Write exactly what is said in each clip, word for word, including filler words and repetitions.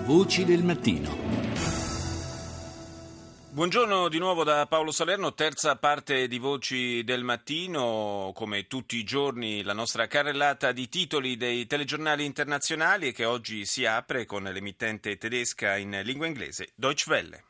Voci del mattino. Buongiorno di nuovo da Paolo Salerno, terza parte di Voci del Mattino, come tutti i giorni la nostra carrellata di titoli dei telegiornali internazionali che oggi si apre con l'emittente tedesca in lingua inglese Deutsche Welle.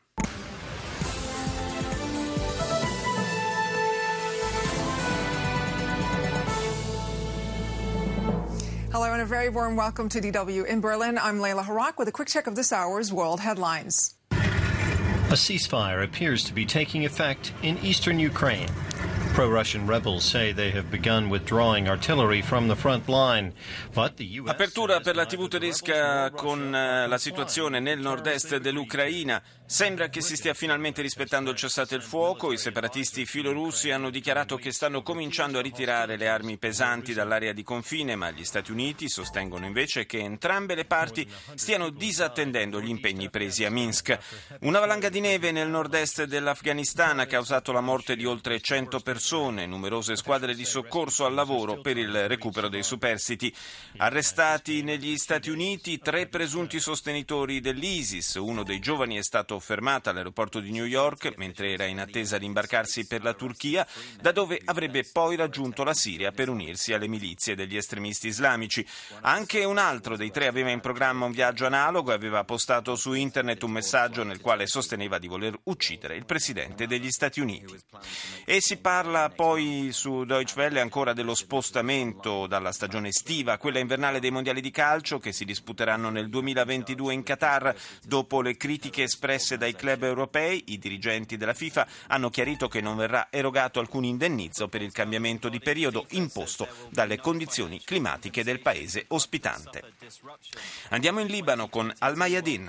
Hello and a very warm welcome to D W in Berlin. I'm Layla Harak with a quick check of this hour's world headlines. A ceasefire appears to be taking effect in eastern Ukraine. Pro-Russian rebels say they have begun withdrawing artillery from the front line, but the U S Apertura per la tivù tedesca con la situazione nel nord-est dell'Ucraina. Sembra che si stia finalmente rispettando il cessate il fuoco. I separatisti filorussi hanno dichiarato che stanno cominciando a ritirare le armi pesanti dall'area di confine, ma gli Stati Uniti sostengono invece che entrambe le parti stiano disattendendo gli impegni presi a Minsk. Una valanga di neve nel nord-est dell'Afghanistan ha causato la morte di oltre cento persone, numerose squadre di soccorso al lavoro per il recupero dei superstiti. Arrestati negli Stati Uniti tre presunti sostenitori dell'ISIS. Uno dei giovani è stato fermato all'aeroporto di New York mentre era in attesa di imbarcarsi per la Turchia, da dove avrebbe poi raggiunto la Siria per unirsi alle milizie degli estremisti islamici. Anche un altro dei tre aveva in programma un viaggio analogo e aveva postato su internet un messaggio nel quale sosteneva di voler uccidere il presidente degli Stati Uniti. E si parla poi su Deutsche Welle ancora dello spostamento dalla stagione estiva a quella invernale dei mondiali di calcio che si disputeranno nel duemilaventidue in Qatar. Dopo le critiche espresse dai club europei, i dirigenti della FIFA hanno chiarito che non verrà erogato alcun indennizzo per il cambiamento di periodo imposto dalle condizioni climatiche del paese ospitante. Andiamo in Libano con Al Mayadeen.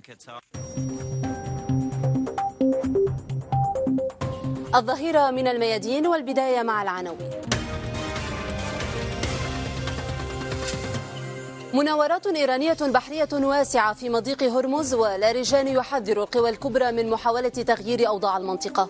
الظهيرة من الميادين والبداية مع العناوين. مناورات إيرانية بحرية واسعة في مضيق هرمز ولاریجان يحذر القوى الكبرى من محاولة تغيير أوضاع المنطقة.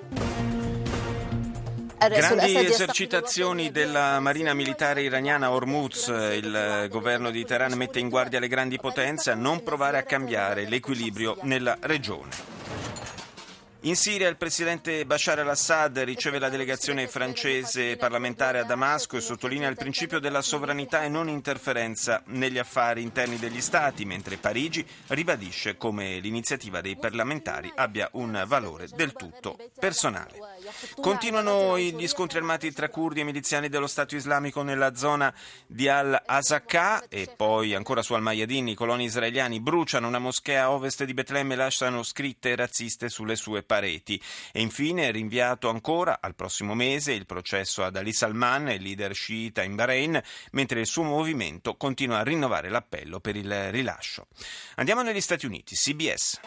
Grandi esercitazioni della marina militare iraniana a Hormuz. Il governo di Teheran mette in guardia le grandi potenze a non provare a cambiare l'equilibrio nella regione. In Siria il presidente Bashar al-Assad riceve la delegazione francese parlamentare a Damasco e sottolinea il principio della sovranità e non interferenza negli affari interni degli stati, mentre Parigi ribadisce come l'iniziativa dei parlamentari abbia un valore del tutto personale. Continuano gli scontri armati tra curdi e miliziani dello Stato islamico nella zona di Al-Azaqqa e poi ancora su Al-Mayadeen i coloni israeliani bruciano una moschea a ovest di Betlemme e lasciano scritte razziste sulle sue pareti. Pareti. E infine è rinviato ancora al prossimo mese il processo ad Ali Salman, il leader sciita in Bahrain, mentre il suo movimento continua a rinnovare l'appello per il rilascio. Andiamo negli Stati Uniti, C B S.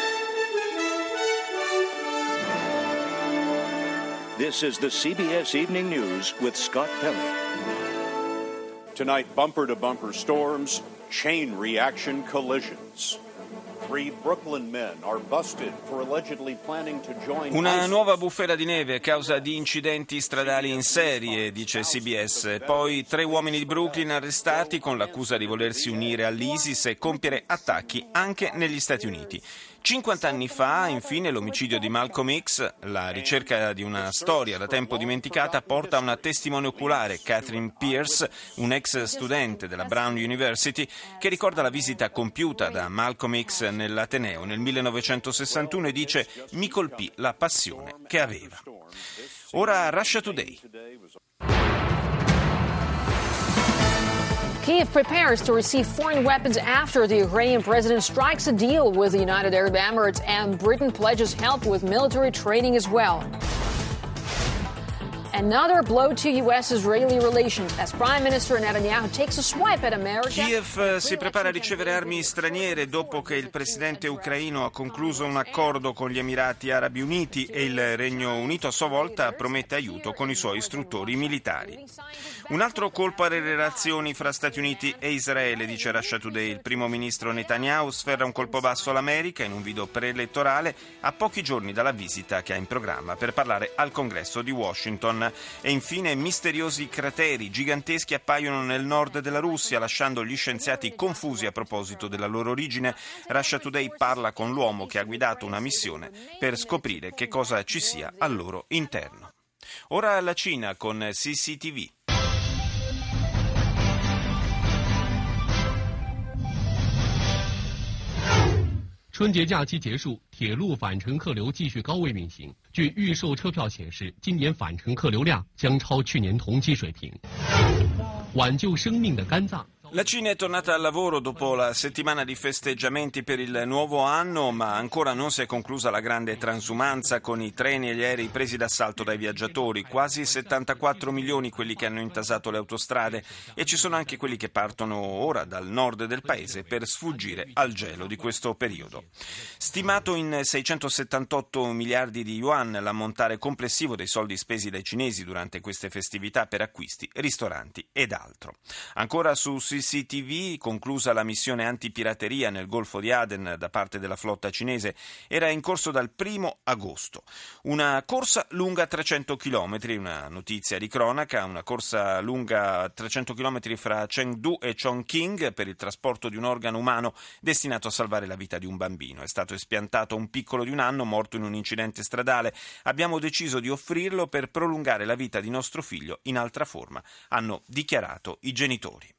This is the C B S Evening News with Scott Pelley. Tonight, bumper-to-bumper storms, chain reaction collisions. Una nuova bufera di neve a causa di incidenti stradali in serie, dice C B S. Poi tre uomini di Brooklyn arrestati con l'accusa di volersi unire all'ISIS e compiere attacchi anche negli Stati Uniti. cinquanta anni fa, infine, l'omicidio di Malcolm X, la ricerca di una storia da tempo dimenticata, porta a una testimone oculare, Catherine Pierce, un ex studente della Brown University, che ricorda la visita compiuta da Malcolm X nell'Ateneo nel millenovecentosessantuno e dice: «Mi colpì la passione che aveva». Ora Russia Today. Kyiv prepares to receive foreign weapons after the Ukrainian president strikes a deal with the United Arab Emirates, and Britain pledges help with military training as well. Another blow to U S-Israeli relations as Prime Minister Netanyahu takes a swipe at America. Kiev si prepara a ricevere armi straniere dopo che il presidente ucraino ha concluso un accordo con gli Emirati Arabi Uniti e il Regno Unito a sua volta promette aiuto con i suoi istruttori militari. Un altro colpo alle relazioni fra Stati Uniti e Israele, dice Russia Today. Il primo ministro Netanyahu sferra un colpo basso all'America in un video preelettorale a pochi giorni dalla visita che ha in programma per parlare al Congresso di Washington. Crimea. E infine misteriosi crateri giganteschi appaiono nel nord della Russia, lasciando gli scienziati confusi a proposito della loro origine. Russia Today parla con l'uomo che ha guidato una missione per scoprire che cosa ci sia al loro interno. Ora la Cina con C C T V. 春节假期结束，铁路返程客流继续高位运行。据预售车票显示，今年返程客流量将超去年同期水平。挽救生命的肝脏。 La Cina è tornata al lavoro dopo la settimana di festeggiamenti per il nuovo anno, ma ancora non si è conclusa la grande transumanza con i treni e gli aerei presi d'assalto dai viaggiatori. Quasi settantaquattro milioni quelli che hanno intasato le autostrade e ci sono anche quelli che partono ora dal nord del paese per sfuggire al gelo di questo periodo. Stimato in seicentosettantotto miliardi di yuan l'ammontare complessivo dei soldi spesi dai cinesi durante queste festività per acquisti, ristoranti ed altro. Ancora su C C T V, conclusa la missione antipirateria nel Golfo di Aden da parte della flotta cinese, era in corso dal primo agosto. Una corsa lunga trecento chilometri, una notizia di cronaca, una corsa lunga trecento chilometri fra Chengdu e Chongqing per il trasporto di un organo umano destinato a salvare la vita di un bambino. È stato espiantato un piccolo di un anno morto in un incidente stradale. Abbiamo deciso di offrirlo per prolungare la vita di nostro figlio in altra forma, hanno dichiarato i genitori.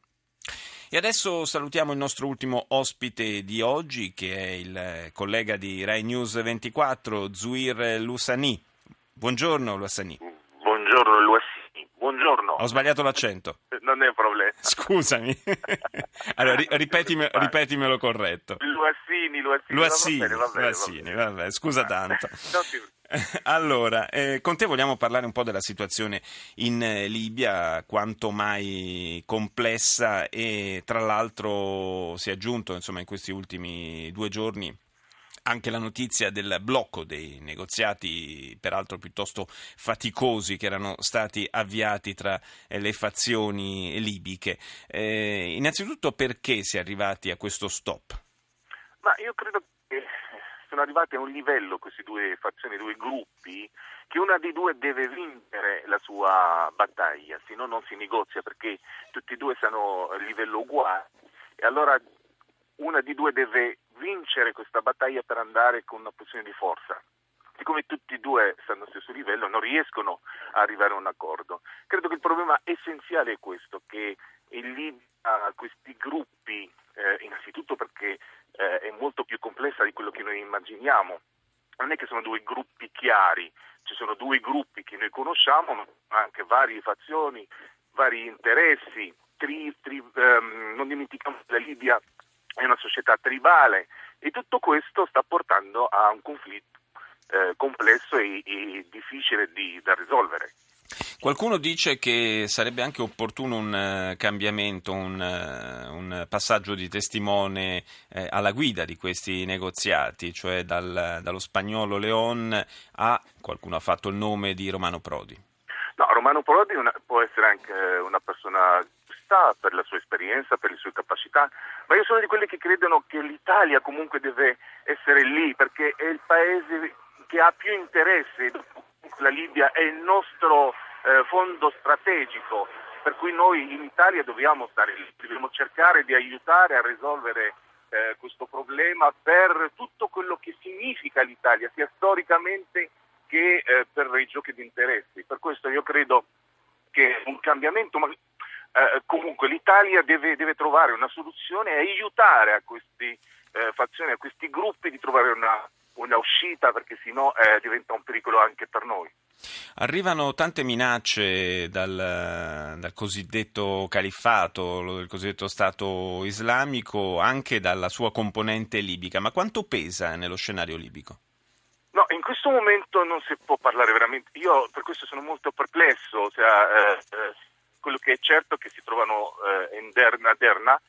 E adesso salutiamo il nostro ultimo ospite di oggi, che è il collega di Rai News ventiquattro, Zouir Loussani. Buongiorno Loussani. Buongiorno Loussani, buongiorno. Ho sbagliato l'accento. Non è un problema. Scusami. Allora ri- ripetime, ripetimelo corretto. Loussani, Loussani. Loussani, va bene, va bene, Loussani, vabbè, scusa tanto. No, sì. Allora, eh, con te vogliamo parlare un po' della situazione in eh, Libia, quanto mai complessa, e tra l'altro si è aggiunto, insomma, in questi ultimi due giorni anche la notizia del blocco dei negoziati, peraltro piuttosto faticosi, che erano stati avviati tra eh, le fazioni libiche. Eh, innanzitutto, perché si è arrivati a questo stop? Ma io credo che sono arrivati a un livello, queste due fazioni, due gruppi, che una di due deve vincere la sua battaglia, se no non si negozia, perché tutti e due sono a livello uguale, e allora una di due deve vincere questa battaglia per andare con una posizione di forza. Siccome tutti e due stanno allo stesso livello, non riescono a arrivare a un accordo. Credo che il problema essenziale è questo, che in Libia questi gruppi, eh, innanzitutto perché eh, è molto più complessa di quello che noi immaginiamo, non è che sono due gruppi chiari, ci sono due gruppi che noi conosciamo, ma anche varie fazioni, vari interessi, tri, tri, um, non dimentichiamo che la Libia è una società tribale, e tutto questo sta portando a un conflitto eh, complesso e, e difficile di, da risolvere. Qualcuno dice che sarebbe anche opportuno un uh, cambiamento, un, uh, un passaggio di testimone eh, alla guida di questi negoziati, cioè dal, dallo spagnolo León a, qualcuno ha fatto il nome di Romano Prodi. No, Romano Prodi una, può essere anche una persona giusta per la sua esperienza, per le sue capacità, ma io sono di quelli che credono che l'Italia comunque deve essere lì, perché è il paese che ha più interesse. La Libia è il nostro eh, fondo strategico, per cui noi in Italia dobbiamo stare lì, dobbiamo cercare di aiutare a risolvere eh, questo problema per tutto quello che significa l'Italia, sia storicamente che eh, per i giochi di interessi. Per questo io credo che un cambiamento, ma eh, comunque l'Italia deve, deve trovare una soluzione e aiutare a questi eh, fazioni, a questi gruppi di trovare una una uscita, perché sennò eh, diventa un pericolo anche per noi. Arrivano tante minacce dal, dal cosiddetto califfato, del cosiddetto Stato islamico, anche dalla sua componente libica, ma quanto pesa nello scenario libico? No, in questo momento non si può parlare veramente, io per questo sono molto perplesso, cioè, eh, eh, quello che è certo è che si trovano eh, in Derna, Derna,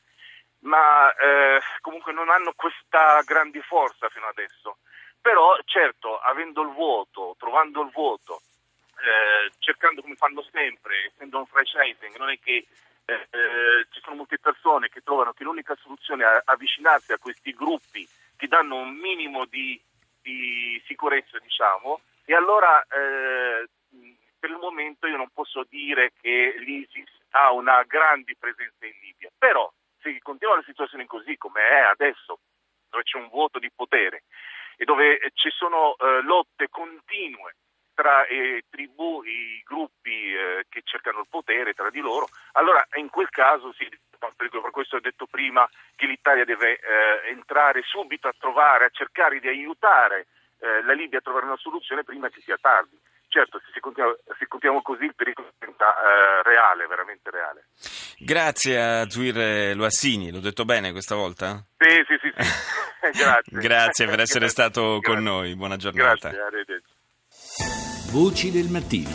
ma eh, comunque non hanno questa grande forza fino adesso. Però certo, avendo il voto, trovando il voto, eh, cercando come fanno sempre, essendo un franchising, non è che eh, eh, ci sono molte persone che trovano che l'unica soluzione è avvicinarsi a questi gruppi che danno un minimo di, di sicurezza, diciamo, e allora eh, per il momento io non posso dire che l'ISIS ha una grande presenza in Libia, però se continua la situazione così come è adesso, dove c'è un vuoto di potere e dove ci sono eh, lotte continue tra eh, tribù, i gruppi eh, che cercano il potere tra di loro, allora in quel caso sì, per questo ho detto prima che l'Italia deve eh, entrare subito a trovare, a cercare di aiutare eh, la Libia a trovare una soluzione prima che sia tardi. Certo, se, continua, se continuiamo così il pericolo diventa eh, reale, veramente reale. Grazie a Zouir Loassini, l'ho detto bene questa volta? Sì, sì, sì, sì. Grazie. Grazie per essere Grazie. stato Grazie. con noi, buona giornata. Grazie, arrivederci. Voci del mattino.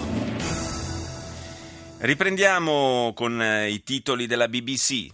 Riprendiamo con i titoli della B B C.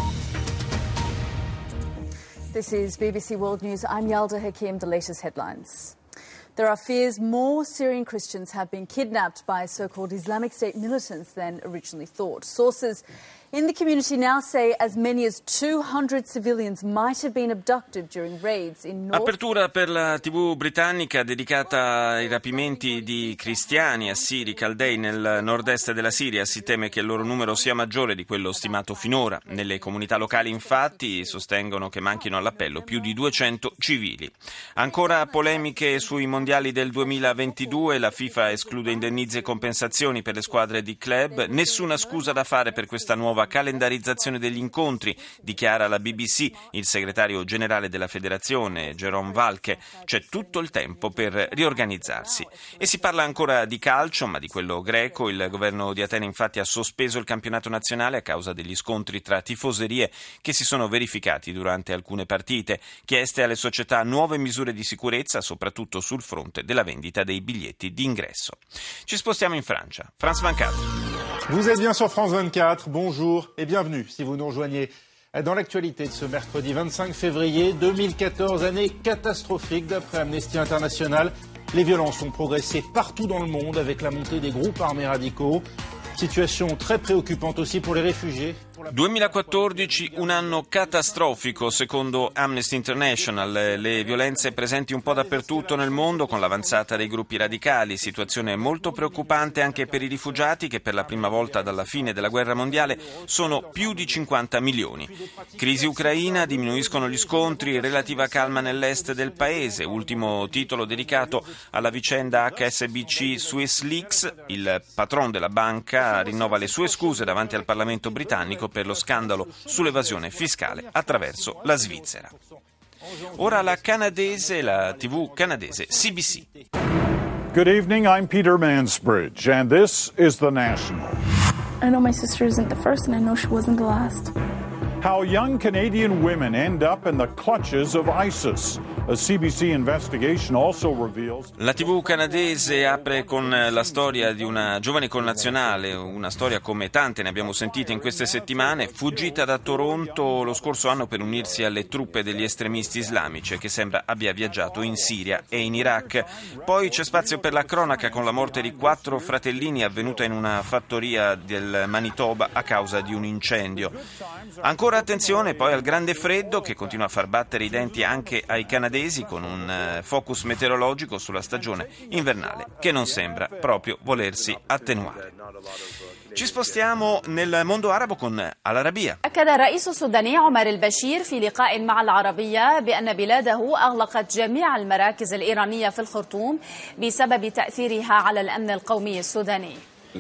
This is B B C World News. I'm Yalda Hakim, the latest headlines. There are fears more Syrian Christians have been kidnapped by so-called Islamic State militants than originally thought. Sources in the community now say as many as two hundred civilians might have been abducted during raids in North. Apertura per la tivù britannica dedicata ai rapimenti di cristiani assiri caldei nel nord-est della Siria. Si teme che il loro numero sia maggiore di quello stimato finora. Nelle comunità locali, infatti, sostengono che manchino all'appello più di duecento civili. Ancora polemiche sui mondiali del duemilaventidue. La FIFA esclude indennizzi e compensazioni per le squadre di club. Nessuna scusa da fare per questa nuova calendarizzazione degli incontri, dichiara la B B C il segretario generale della federazione, Jerome Valcke. C'è tutto il tempo per riorganizzarsi. E si parla ancora di calcio, ma di quello greco. Il governo di Atene infatti ha sospeso il campionato nazionale a causa degli scontri tra tifoserie che si sono verificati durante alcune partite. Chieste alle società nuove misure di sicurezza, soprattutto sul fronte della vendita dei biglietti d'ingresso. Ci spostiamo in Francia. France vingt-quatre. Vous êtes bien sur France vingt-quatre, bonjour et bienvenue si vous nous rejoignez dans l'actualité de ce mercredi vingt-cinq février deux mille quatorze, année catastrophique d'après Amnesty International. Les violences ont progressé partout dans le monde avec la montée des groupes armés radicaux. Situation très préoccupante aussi pour les réfugiés. duemilaquattordici, un anno catastrofico secondo Amnesty International. Le violenze presenti un po' dappertutto nel mondo con l'avanzata dei gruppi radicali. Situazione molto preoccupante anche per i rifugiati che per la prima volta dalla fine della guerra mondiale sono più di cinquanta milioni. Crisi ucraina, diminuiscono gli scontri, relativa calma nell'est del paese. Ultimo titolo dedicato alla vicenda H S B C Swiss Leaks. Il patron della banca rinnova le sue scuse davanti al Parlamento britannico per lo scandalo sull'evasione fiscale attraverso la Svizzera. Ora la canadese, la tivù canadese C B C. Good evening, I'm Peter Mansbridge, and this is The National. I know my sister isn't the first, and I know she wasn't the last. How young Canadian women end up in the clutches of ISIS. A C B C investigation also reveals... La tivù canadese apre con la storia di una giovane connazionale, una storia come tante ne abbiamo sentite in queste settimane, fuggita da Toronto lo scorso anno per unirsi alle truppe degli estremisti islamici, che sembra abbia viaggiato in Siria e in Iraq. Poi c'è spazio per la cronaca con la morte di quattro fratellini avvenuta in una fattoria del Manitoba a causa di un incendio. Ancora attenzione poi al grande freddo che continua a far battere i denti anche ai canadesi, con un focus meteorologico sulla stagione invernale che non sembra proprio volersi attenuare. Ci spostiamo nel mondo arabo con Al Arabiya. أكد الرئيس السوداني عمر البشير في لقاء مع العربية بأن بلاده أغلقت جميع المراكز الإيرانية في الخرطوم بسبب تأثيرها على الأمن القومي السوداني.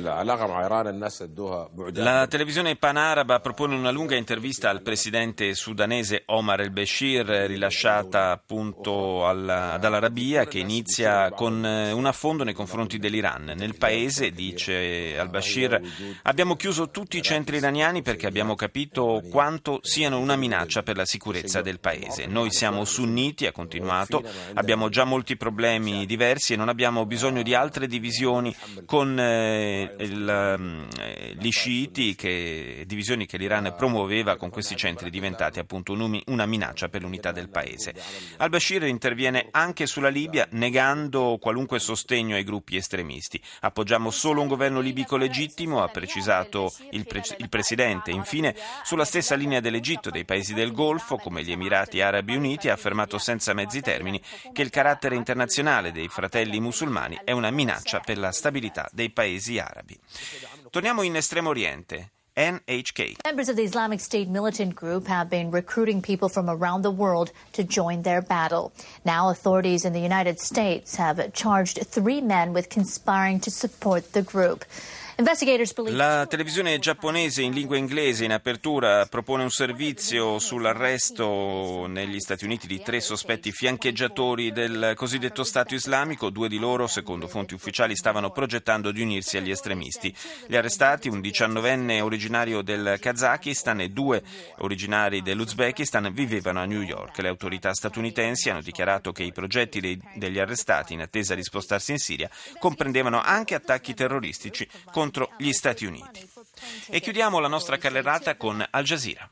La televisione panaraba propone una lunga intervista al presidente sudanese Omar el-Bashir, rilasciata appunto alla, ad Al Arabiya, che inizia con un affondo nei confronti dell'Iran. Nel paese, dice al-Bashir, abbiamo chiuso tutti i centri iraniani perché abbiamo capito quanto siano una minaccia per la sicurezza del paese. Noi siamo sunniti, ha continuato, abbiamo già molti problemi diversi e non abbiamo bisogno di altre divisioni con eh, e il, gli sciiti, che, divisioni che l'Iran promuoveva con questi centri diventati appunto una minaccia per l'unità del paese. Al-Bashir interviene anche sulla Libia negando qualunque sostegno ai gruppi estremisti. Appoggiamo solo un governo libico legittimo, ha precisato il, pre- il presidente. Infine, sulla stessa linea dell'Egitto e dei paesi del Golfo, come gli Emirati Arabi Uniti, ha affermato senza mezzi termini che il carattere internazionale dei fratelli musulmani è una minaccia per la stabilità dei paesi arabi. Torniamo in Estremo Oriente. N H K. Members of the Islamic State militant group have been recruiting people from around the world to join their battle. Now authorities in the United States have charged three men with conspiring to support the group. La televisione giapponese in lingua inglese in apertura propone un servizio sull'arresto negli Stati Uniti di tre sospetti fiancheggiatori del cosiddetto Stato islamico. Due di loro, secondo fonti ufficiali, stavano progettando di unirsi agli estremisti. Gli arrestati, un diciannovenne originario del Kazakistan e due originari dell'Uzbekistan, vivevano a New York. Le autorità statunitensi hanno dichiarato che i progetti dei, degli arrestati, in attesa di spostarsi in Siria, comprendevano anche attacchi terroristici contro gli Stati Uniti. E chiudiamo la nostra carrellata con Al Jazeera.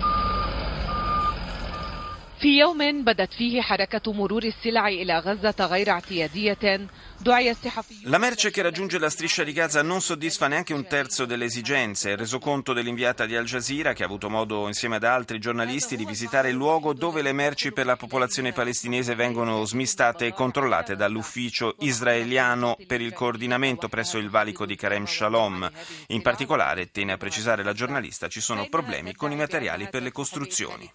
في يوم بدت فيه حركة مرور السلع إلى غزة غير اعتيادية دعي الصحفيون. La merce che raggiunge la striscia di Gaza non soddisfa neanche un terzo delle esigenze. Il resoconto dell'inviata di Al Jazeera, che ha avuto modo insieme ad altri giornalisti di visitare il luogo dove le merci per la popolazione palestinese vengono smistate e controllate dall'ufficio israeliano per il coordinamento presso il valico di Karem Shalom. In particolare, tiene a precisare la giornalista, ci sono problemi con i materiali per le costruzioni.